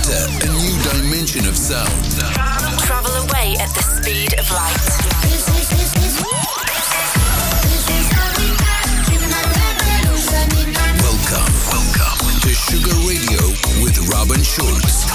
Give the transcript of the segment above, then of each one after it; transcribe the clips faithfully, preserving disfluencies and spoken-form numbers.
Enter a new dimension of sound. Travel away at the speed of light. Welcome, welcome to Sugar Radio with Robin Schulz.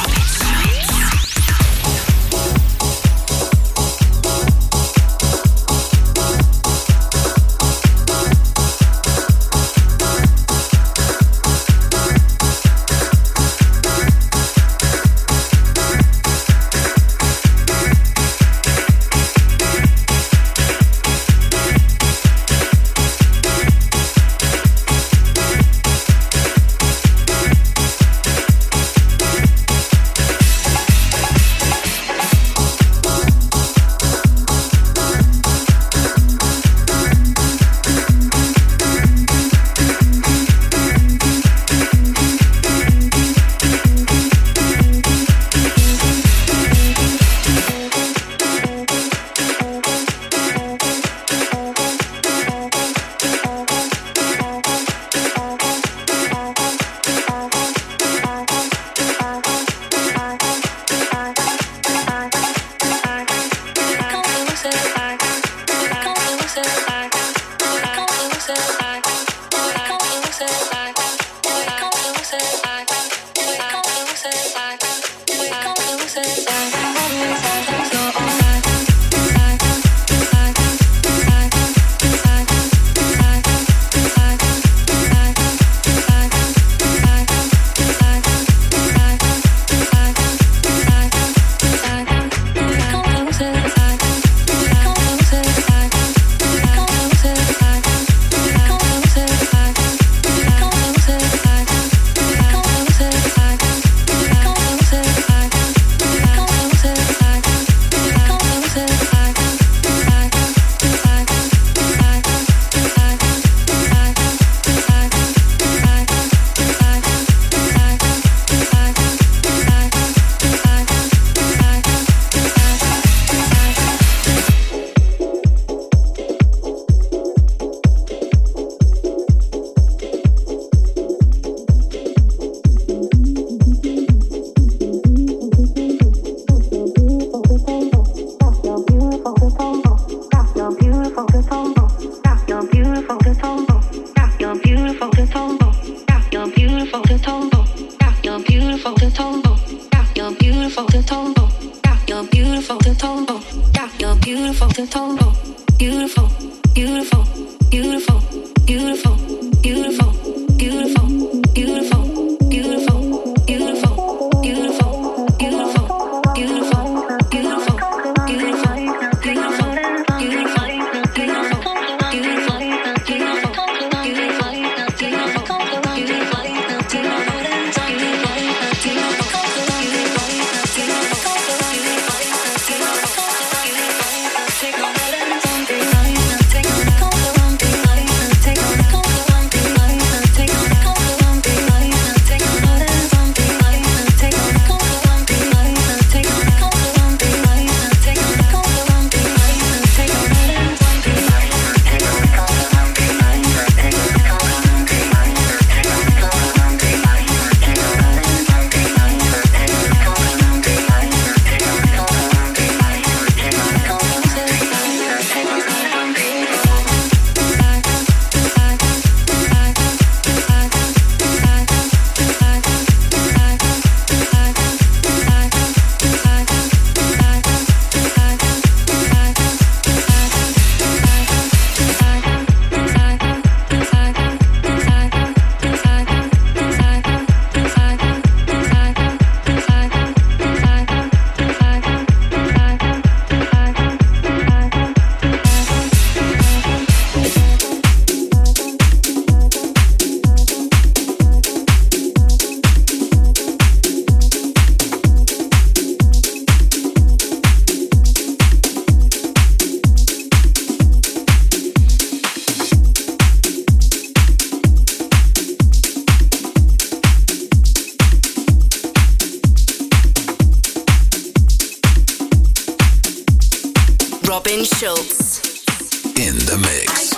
Robin Schulz in the mix.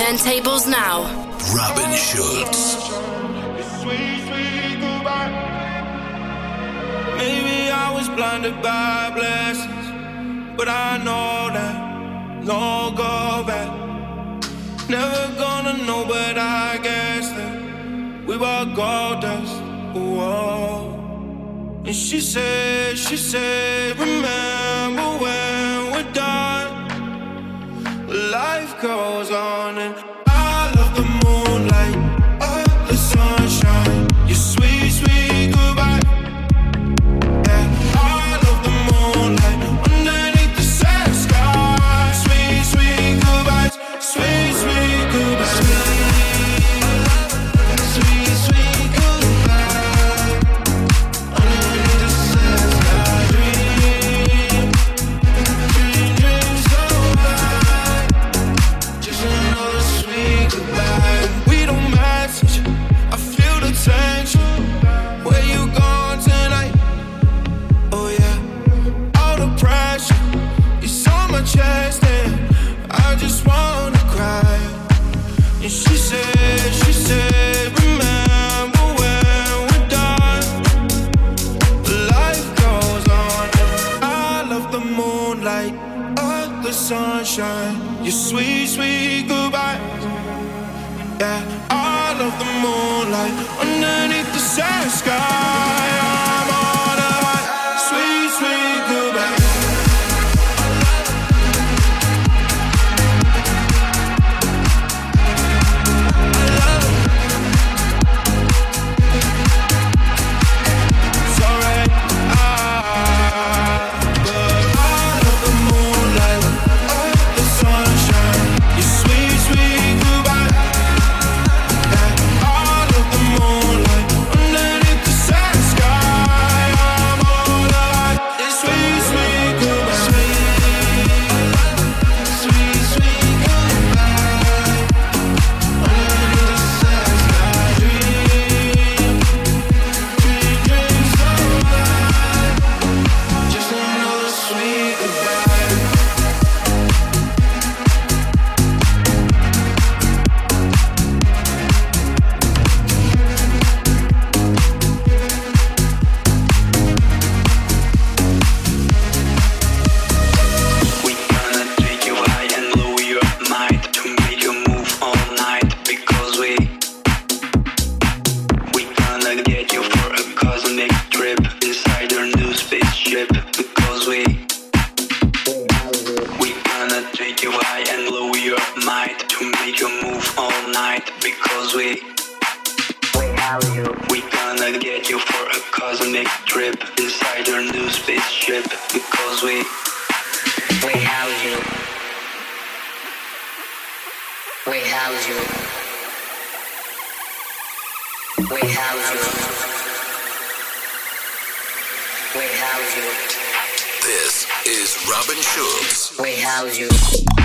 turntables now. Robin Schulz. Sweet, sweet goodbye. Maybe I was blinded by blessings, but I know that no go back. Never gonna know, but I guess that we were gold dust. Whoa. And she said, she said, remember when we're done. Life goes on and I love the moonlight, oh, the sunshine, your sweet, sweet goodbye. Yeah, I love the moonlight underneath the sad sky. Sweet, sweet goodbyes, sweet, sweet goodbyes. Sweet, sweet goodbye underneath the sad sky. Dream, dream, dream so high. Just another sweet goodbye. We don't message, I feel the tension. Where you going tonight? Oh yeah, all the pressure is on my chest and I just wanna cry. And she said, she said, remember when we're done. Life goes on. I love the moonlight, oh, the sunshine, your sweet, sweet goodbye. Yeah, I love the moonlight underneath the sad sky. I'm on a high, sweet, sweet goodbye. It's alright, ah, but I love the moonlight, oh, the sunshine, your sweet, sweet goodbye. Yeah, I love the moonlight underneath the sad sky. I'm all alive, it's sweet, sweet goodbye. Sweet, sweet goodbye underneath the sad sky. Dream, dream, dream so high. Just another sweet goodbye. We gonna take you high and blow your mind to make you move all night because we we gonna get you for a cosmic trip inside our new spaceship because we we gonna take you high and blow your mind to make you move all night because we we gonna get you for a cosmic trip inside our new spaceship because we We house you. We house you. We house you. We house you. This is Robin Schulz. We house you.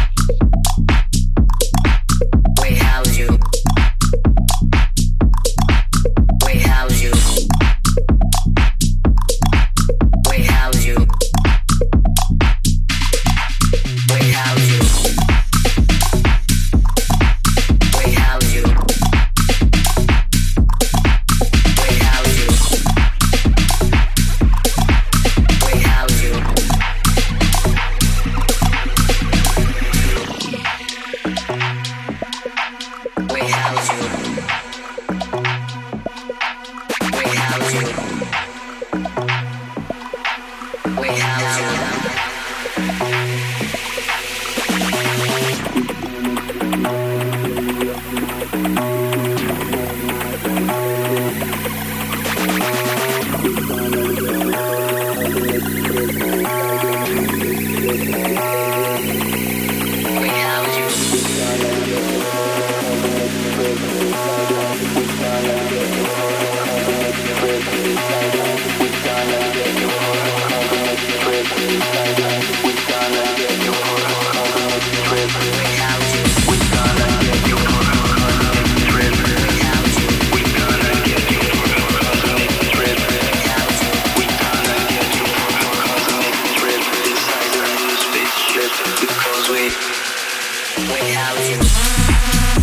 We house you. We house you. We house you. We house you. We house you. We house you. We house you. We house you. We house you. We house you. We house you. because we We house you.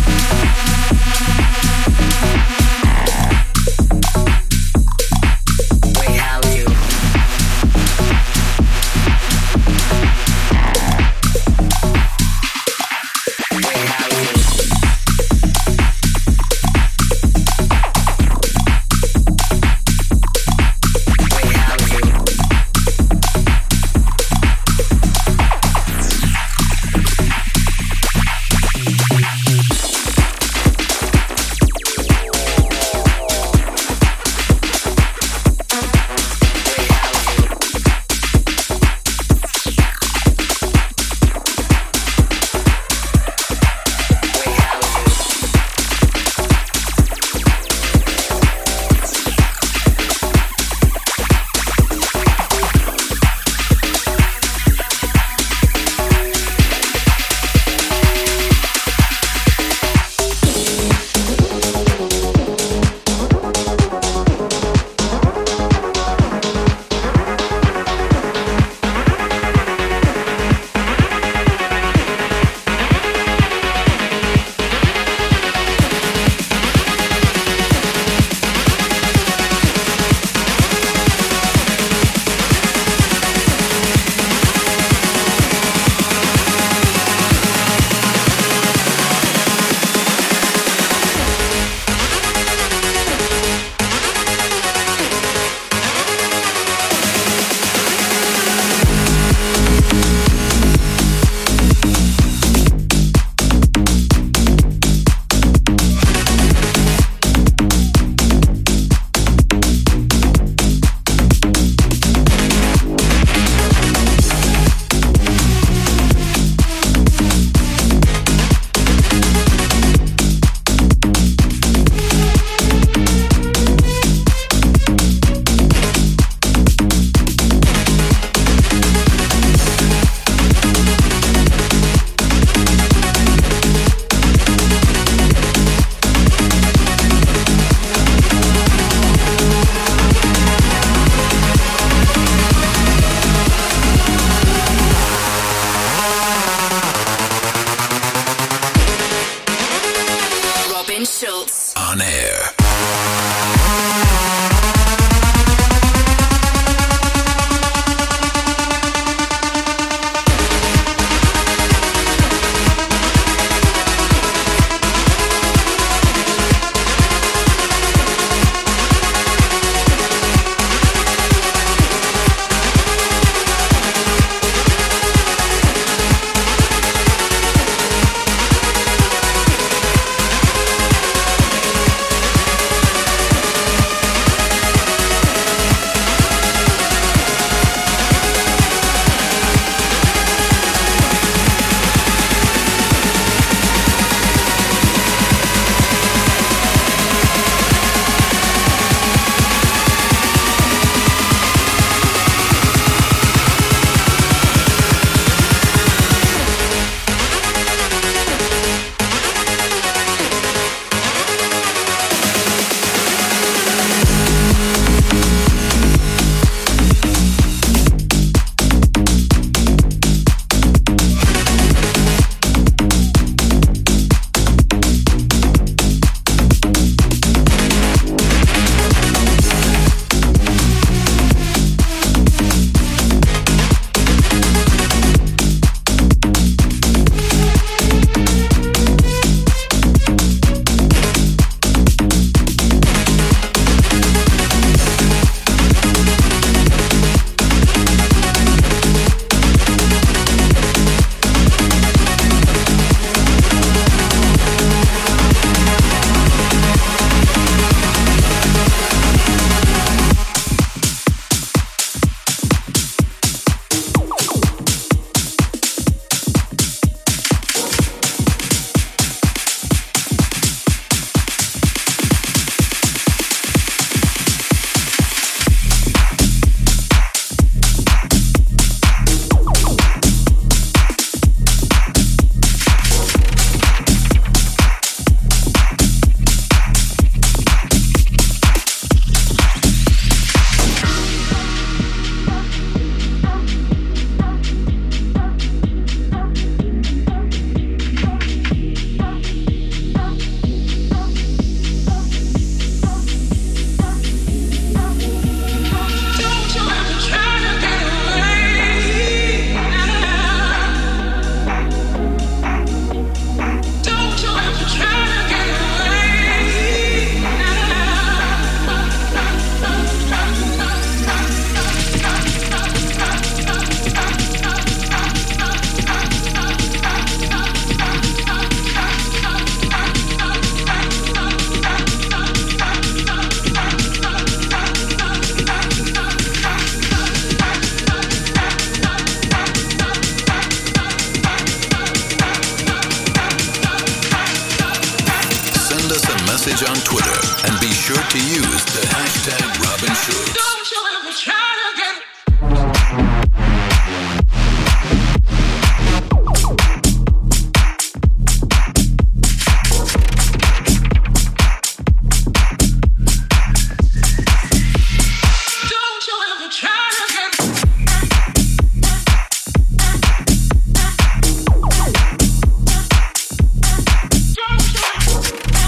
message on Twitter and be sure to use the hashtag Robin Schulz. Don't you ever try to get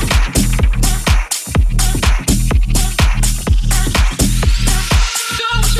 Don't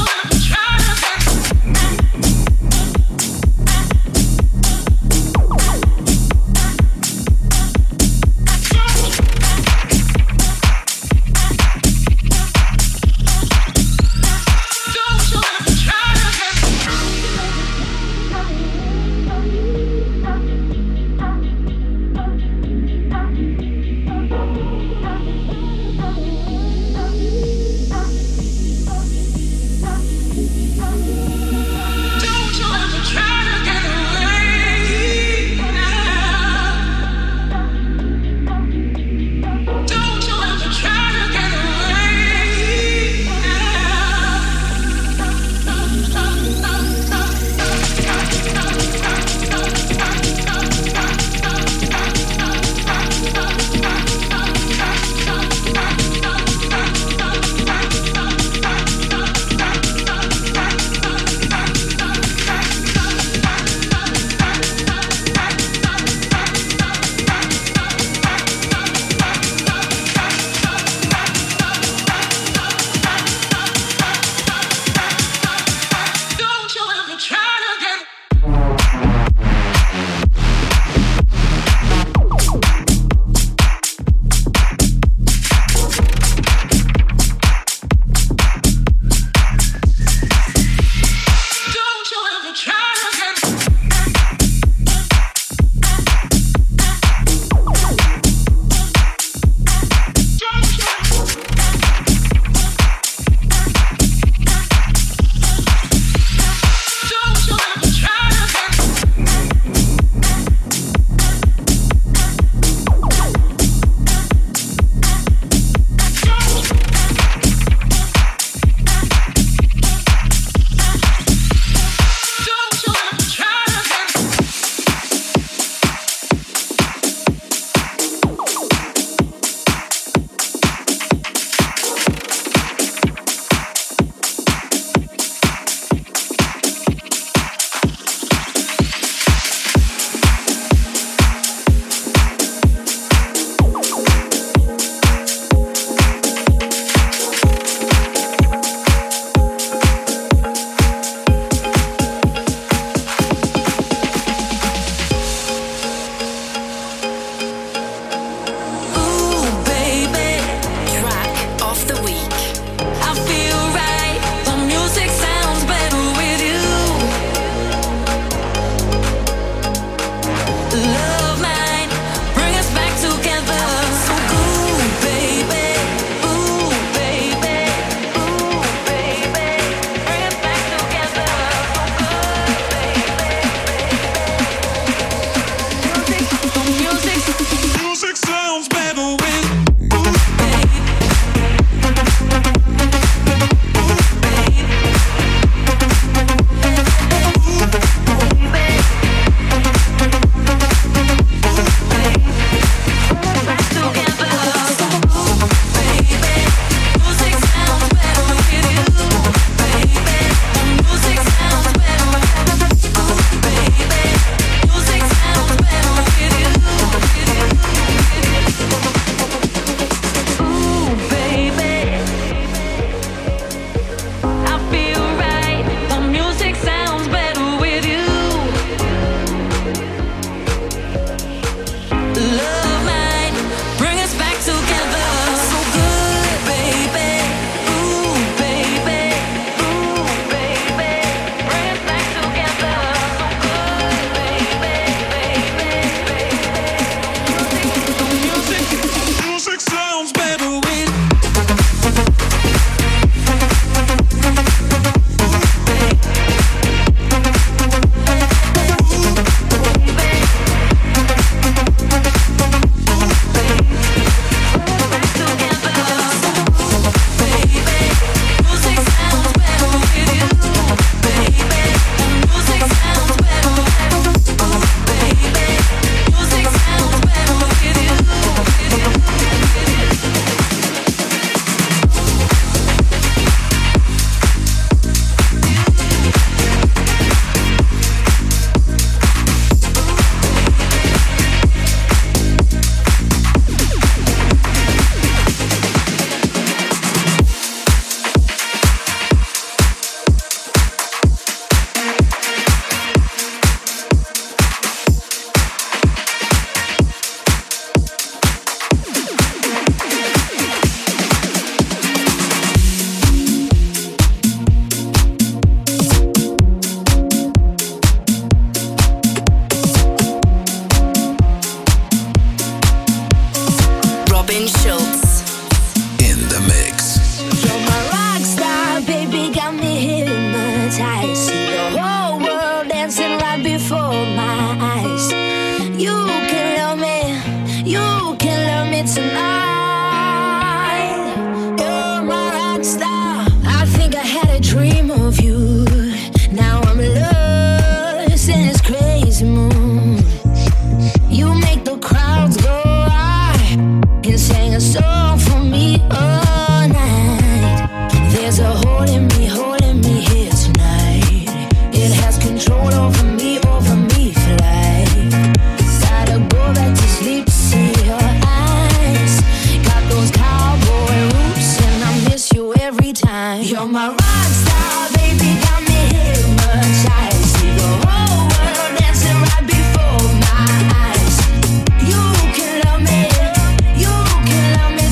You can love me, you can love me tonight. You're my rock star. I think I had a dream of you. Now I'm lost in this crazy mood. You make the crowds go wild and sing a song for me all night. There's a hole in me, hole in me here tonight. It has control over me, over me for life. Gotta go back to sleep to see your eyes. Got those cowboy roots and I miss you every time. You're my rock star, baby, got me hypnotized. See the whole world dancing right before my eyes. You can love me, you can love me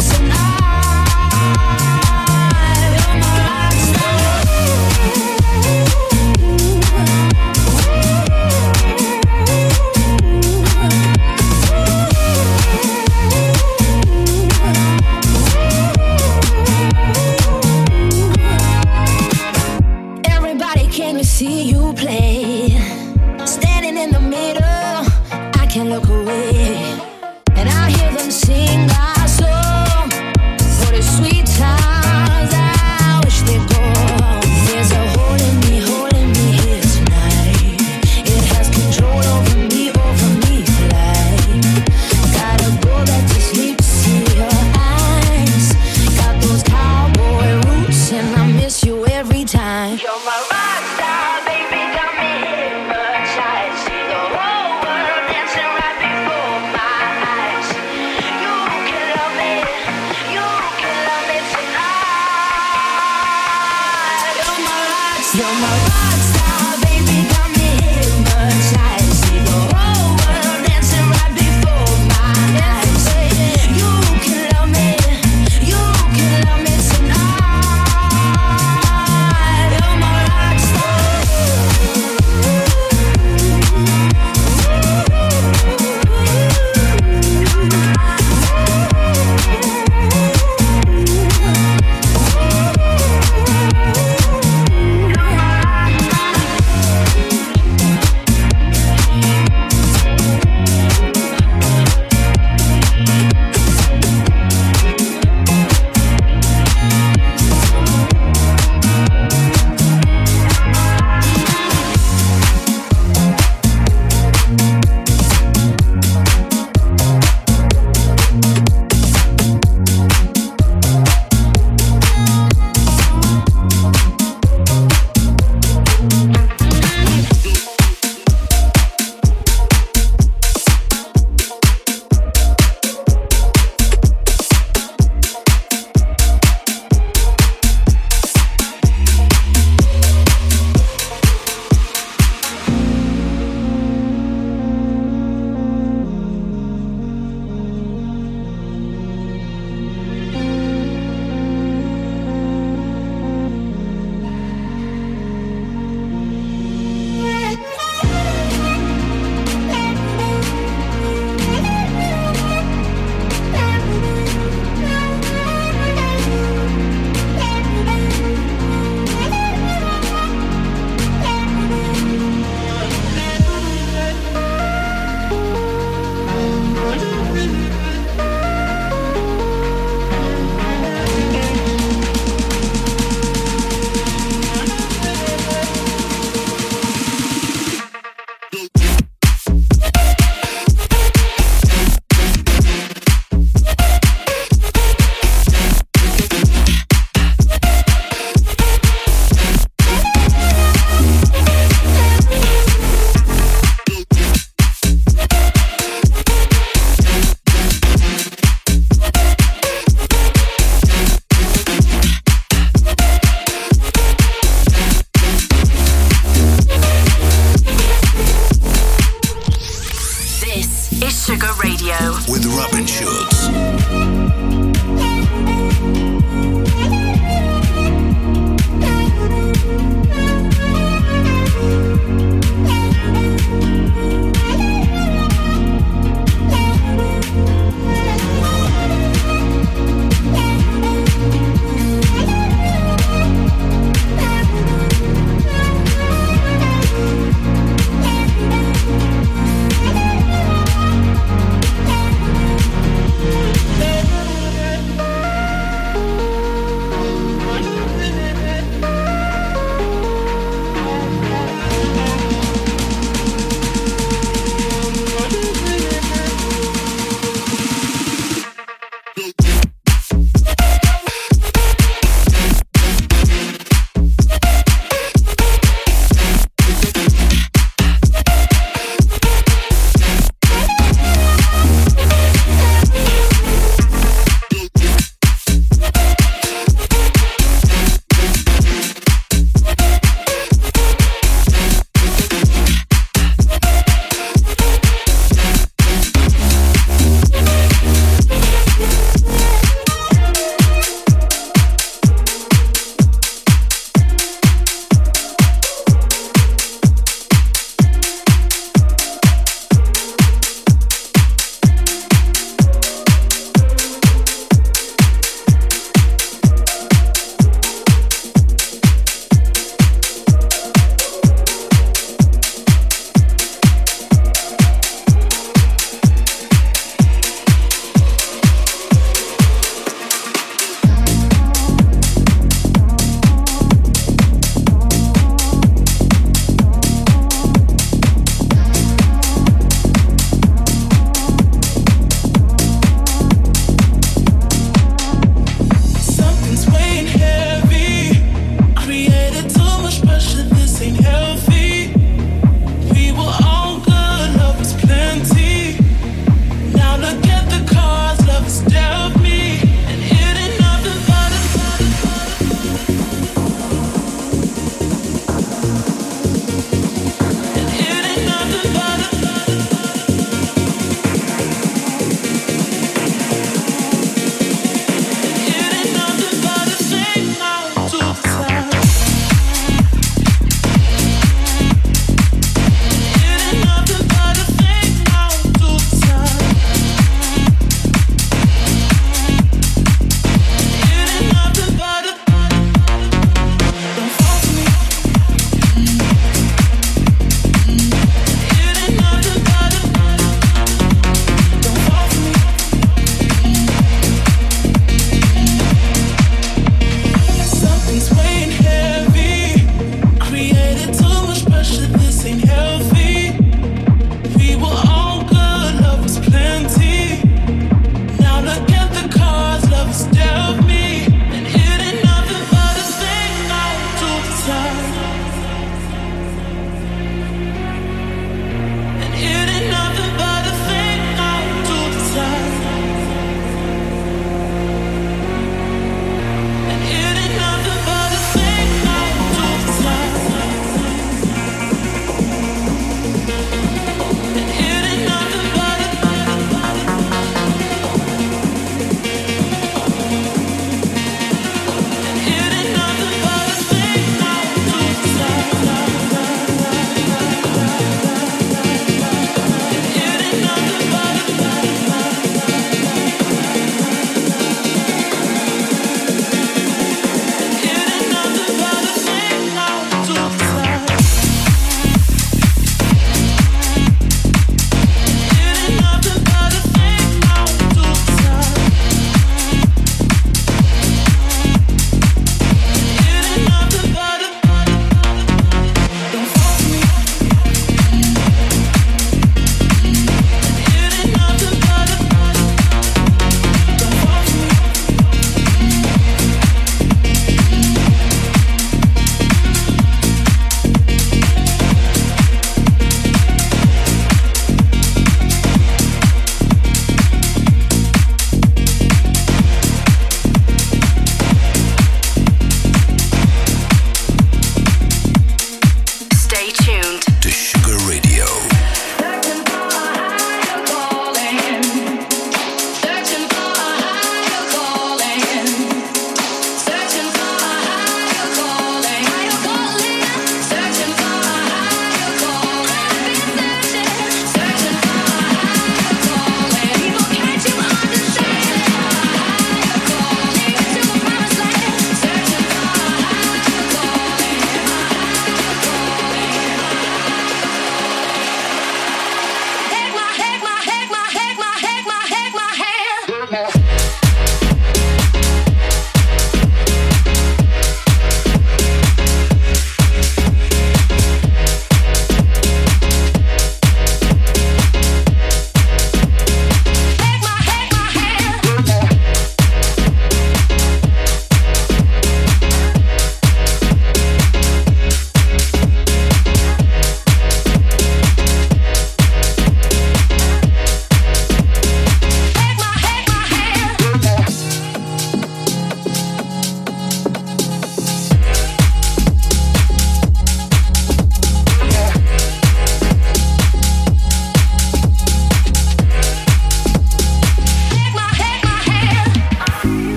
tonight. You're my rock star. Everybody came to see you play. Standing in the middle, I can't look away. And I hear them sing our song for the sweet times I wish they'd go. There's a hole in me, hole in me here tonight. It has control over me, over me for life. Gotta go back to sleep to see your eyes. Got those cowboy roots and I miss you every time. You're my rock star, baby, got me hypnotized. See the whole world dancing right before my eyes. You can love me, you can love me tonight. You're my rock star. You're my rock star, baby, got me hypnotized. See the whole world dancing right before my eyes. You can love me, you can love me tonight. You're my rock star. with Robin Schulz.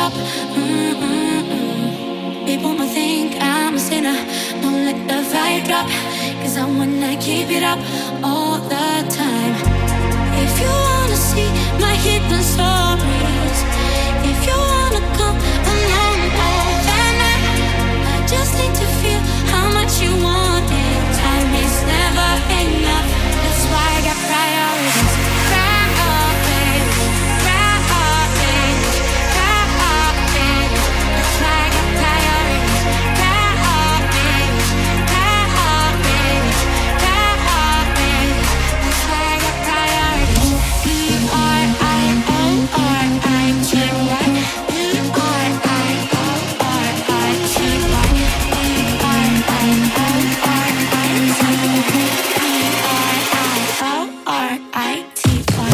up. Mm-mm-mm. People might think I'm a sinner. Don't let the vibe drop, cause I wanna keep it up all the time. If you wanna see my hidden stories, if you wanna come along all that night, I just need to feel how much you want it. Time is never enough, that's why I got priorities. Priorities, priorities, priorities. That's why I got priorities. Priorities, priorities, priorities. That's why I got priorities. P R I O R I T Y. P R I O R I T Y. P R I O R I T Y. P R I O R I T Y.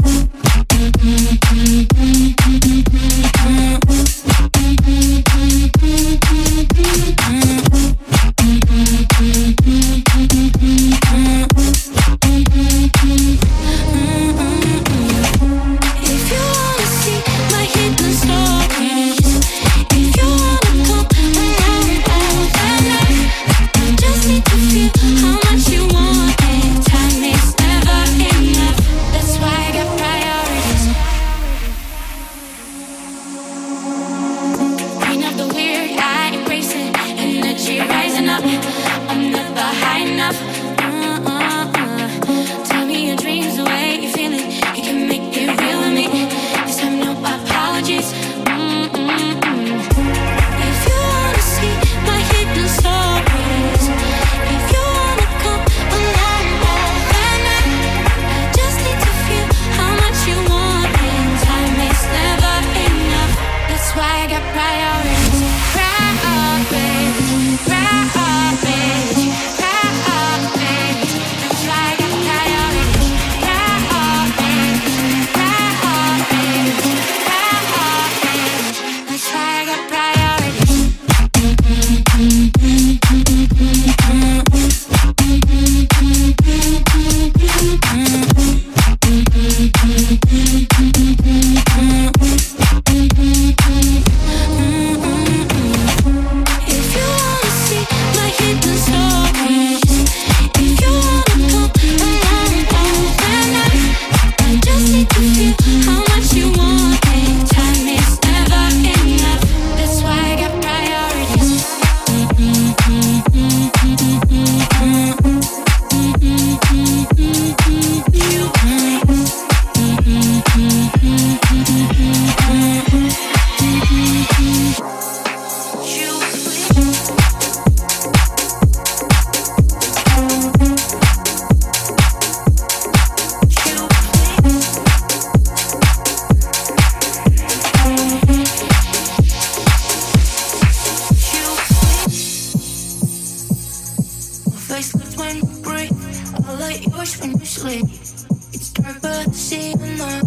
If you wanna see my hidden stories, if you wanna come around all that night, I just need to feel how much you want it. Time is never enough, that's why I got priorities. Clean up the weird, I embrace it. Energy rising up, I'm never high enough. Uh-uh-uh. Tell me your dreams, the way you feel it. You can make it real with me. This time no apologies. Mm-mm-mm. If you wanna see my hidden stories, if you wanna come along all that night, I just need to feel how much you want it. Time is never enough, that's why I got priorities. Priorities, priorities, priorities. That's why I got priorities. Priorities, priorities, priorities. That's why I got priorities. If you wanna see my hidden stories, if you wanna come along all that night, I just need to feel how much you want it. Time is never enough, that's why I got priorities. Face left when you breathe, all like yours when you sleep. It's dark but I see the light.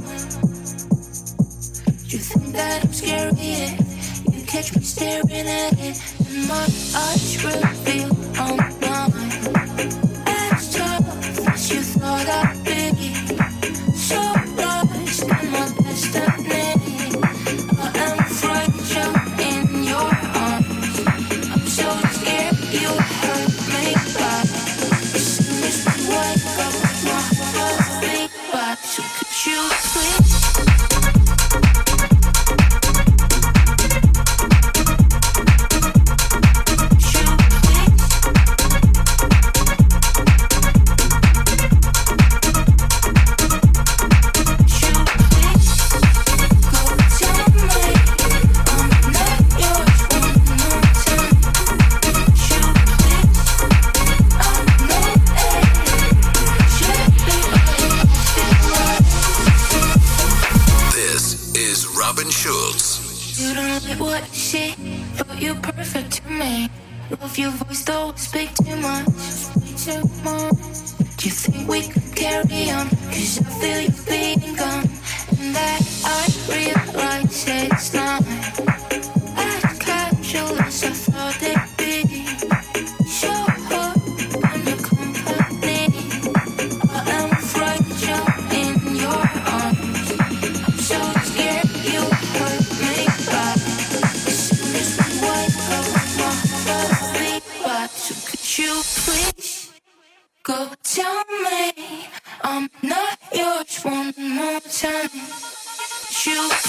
You think that I'm scary, yeah. You catch me staring at it, and my eyes reveal all mine. As tough as you thought I'd be, so lost in my destiny. I am fragile in your arms. I'm so scared you hurt me bad. As soon as we wake up, my heart beat back. So could you please? Robin Schulz. You don't like what you see, but you're perfect to me. Love your voice, though speak too much, speak too much. Do you think we could carry on? Cause I feel you being gone, and that I realize it's not as casual as I thought it'd be. So hard when you're company. I am fragile in your arms. I'm so scared you hurt me back.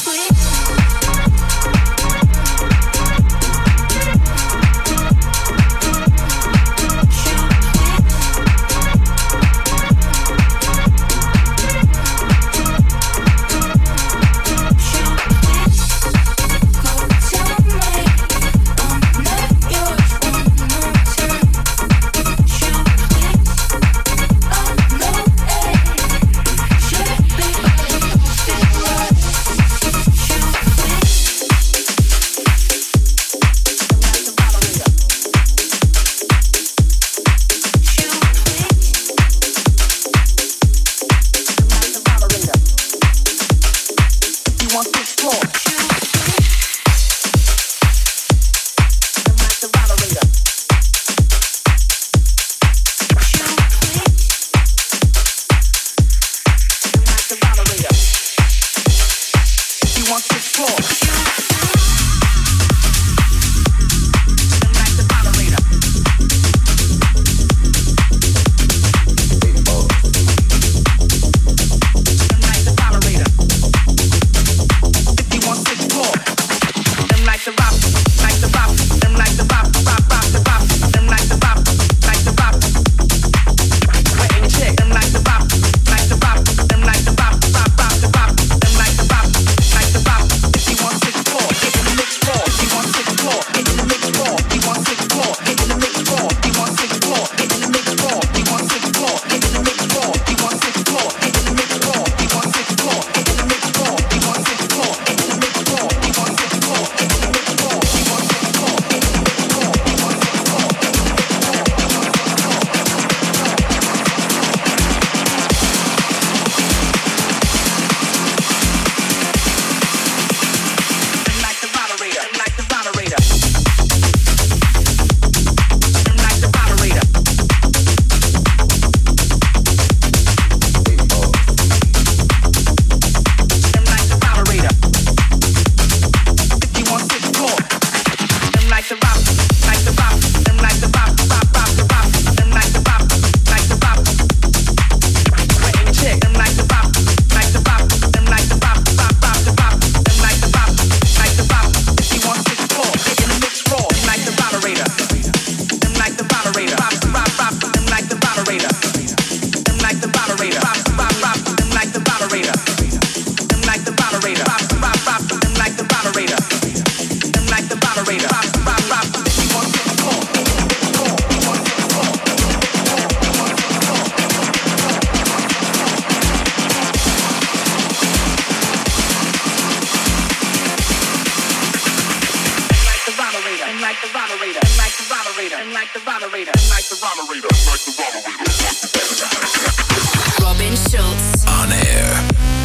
Robin Schulz. On air.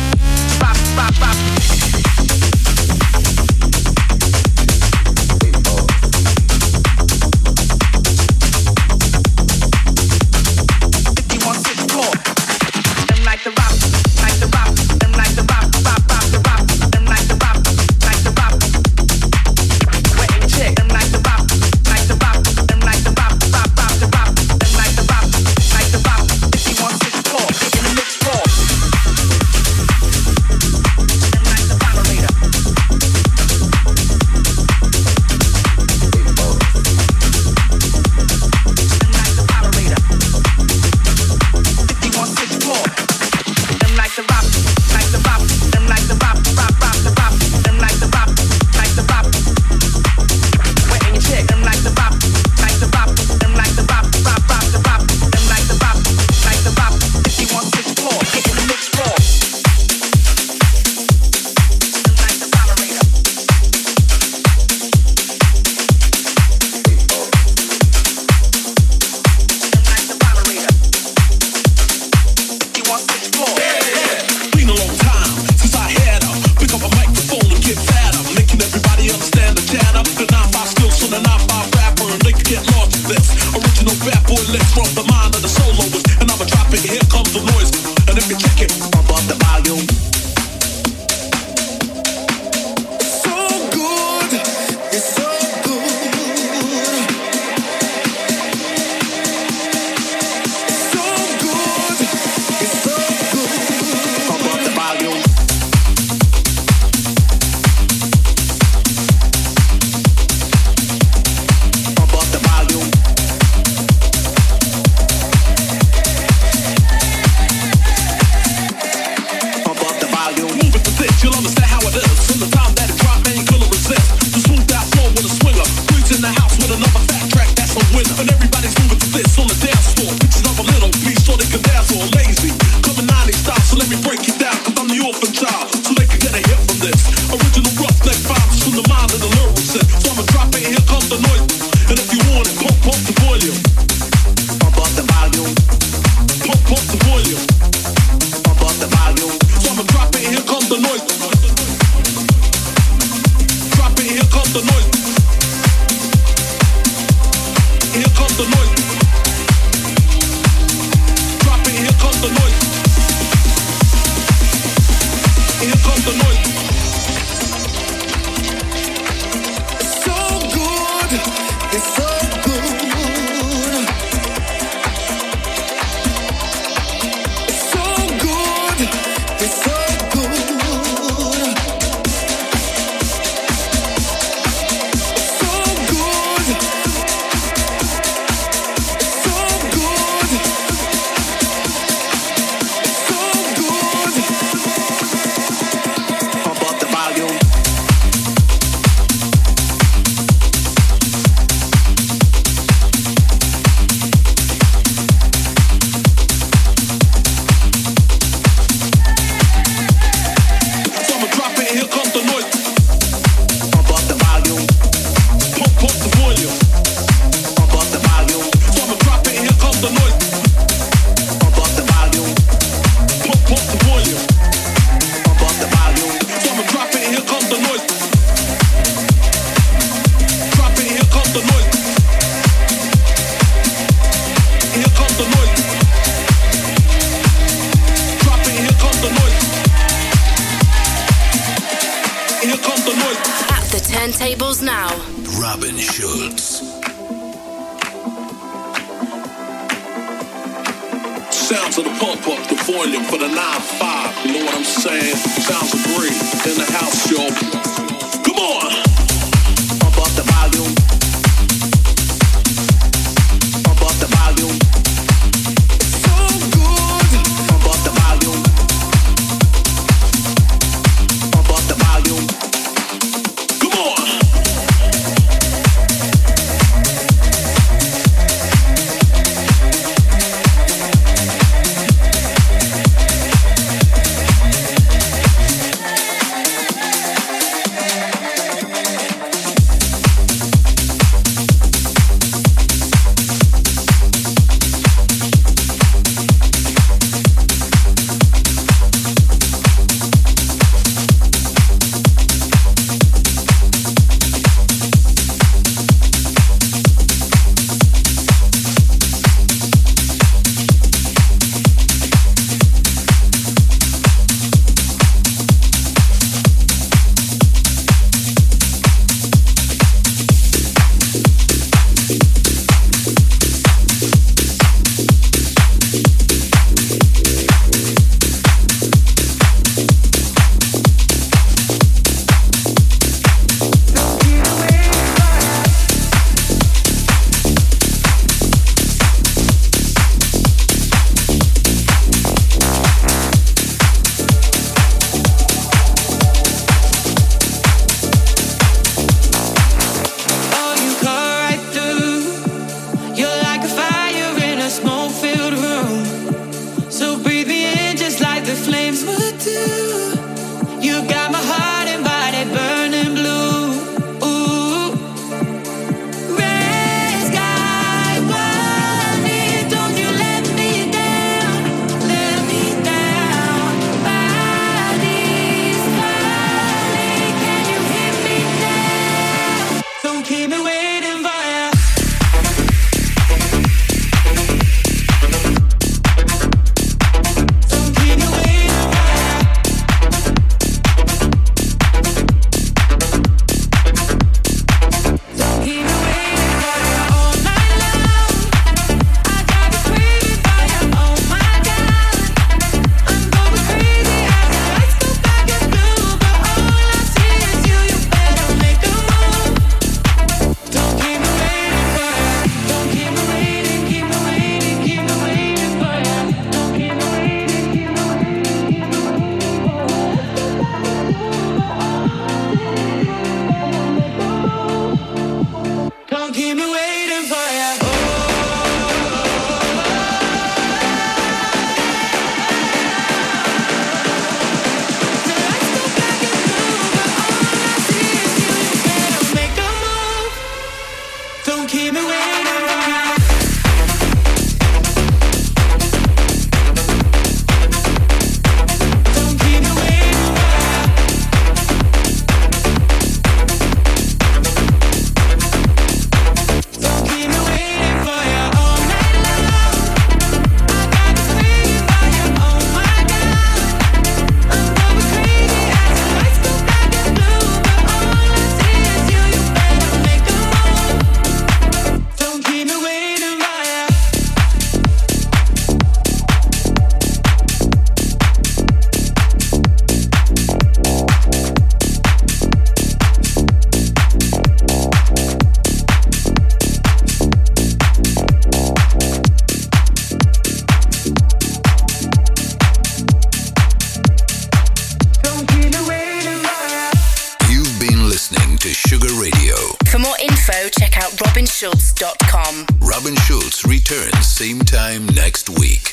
Bop, bop, bop. Like the next vibes from the mind of the lyrics. So I'ma drop it, here comes the noise. And if you want it, pump up the volume. Pump up the volume. Pump up the volume. Pump up the volume. So I'ma drop it, here comes the noise. Drop it, here comes the noise. Here comes the noise. Drop it, here comes the noise. Here comes the noise. It's so good. It's so good. It's so good. It's so good. It's so good. It's so good. It's so good. Pump up the volume. So I'ma drop it, here comes the noise. Pump up the volume. Pump up the volume. Pump up the volume. So I'ma drop it, here comes the noise. Pump up the volume. Pump up the volume. Pump up the volume. So I'ma drop it, here comes the noise. Drop it, here comes the noise. Here comes the noise. Drop it, here comes the noise. Here comes the noise. At the turntables now. Robin Schulz. Sounds of the pump up the volume for the nine five. You know what I'm saying? Sounds of great in the house, yo. Come on! Pump up the volume. Pump up the volume. It's so good. Pump up the volume. Pump up the volume. Come on! Sugar Radio. For more info, check out robin schultz dot com. Robin Schultz returns same time next week.